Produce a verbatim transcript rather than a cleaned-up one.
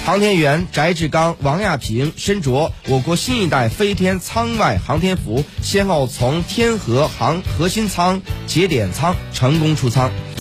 航天员翟志刚、王亚平身着我国新一代飞天舱外航天服，先后从天河航核心舱、节点舱成功出舱。